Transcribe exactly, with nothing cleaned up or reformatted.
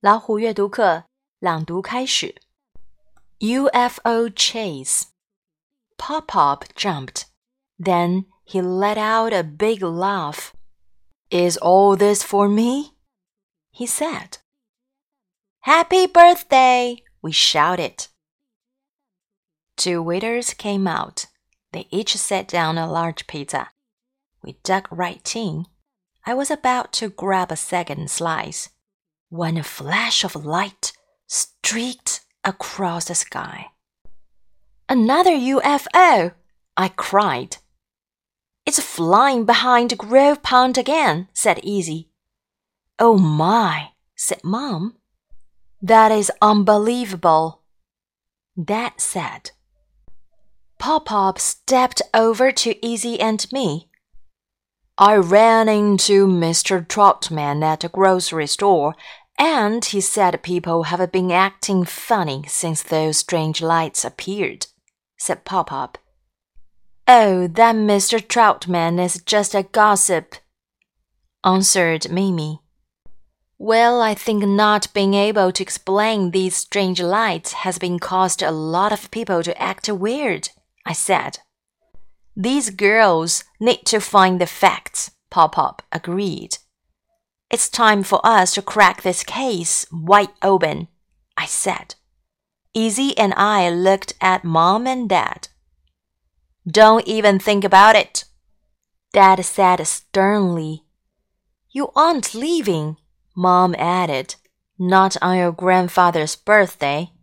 老虎阅读课朗读开始。U F O chase. Pop-Pop jumped. Then he let out a big laugh. Is all this for me? He said. Happy birthday! We shouted. Two waiters came out. They each set down a large pizza. We dug right in. I was about to grab a second slice when a flash of light streaked across the sky. Another U F O! I cried. It's flying behind Grove Pond again, said Easy. Oh my, said Mom. That is unbelievable, Dad said. Pop-Pop stepped over to Easy and me. I ran into Mister Troutman at the grocery store, and he said people have been acting funny since those strange lights appeared, said Pop-Pop. Oh, that Mister Troutman is just a gossip, answered Mimi. Well, I think not being able to explain these strange lights has been caused a lot of people to act weird, I said. These girls need to find the facts, Pop-Pop agreed. It's time for us to crack this case wide open, I said. Easy and I looked at Mom and Dad. Don't even think about it, Dad said sternly. You aren't leaving, Mom added. Not on your grandfather's birthday.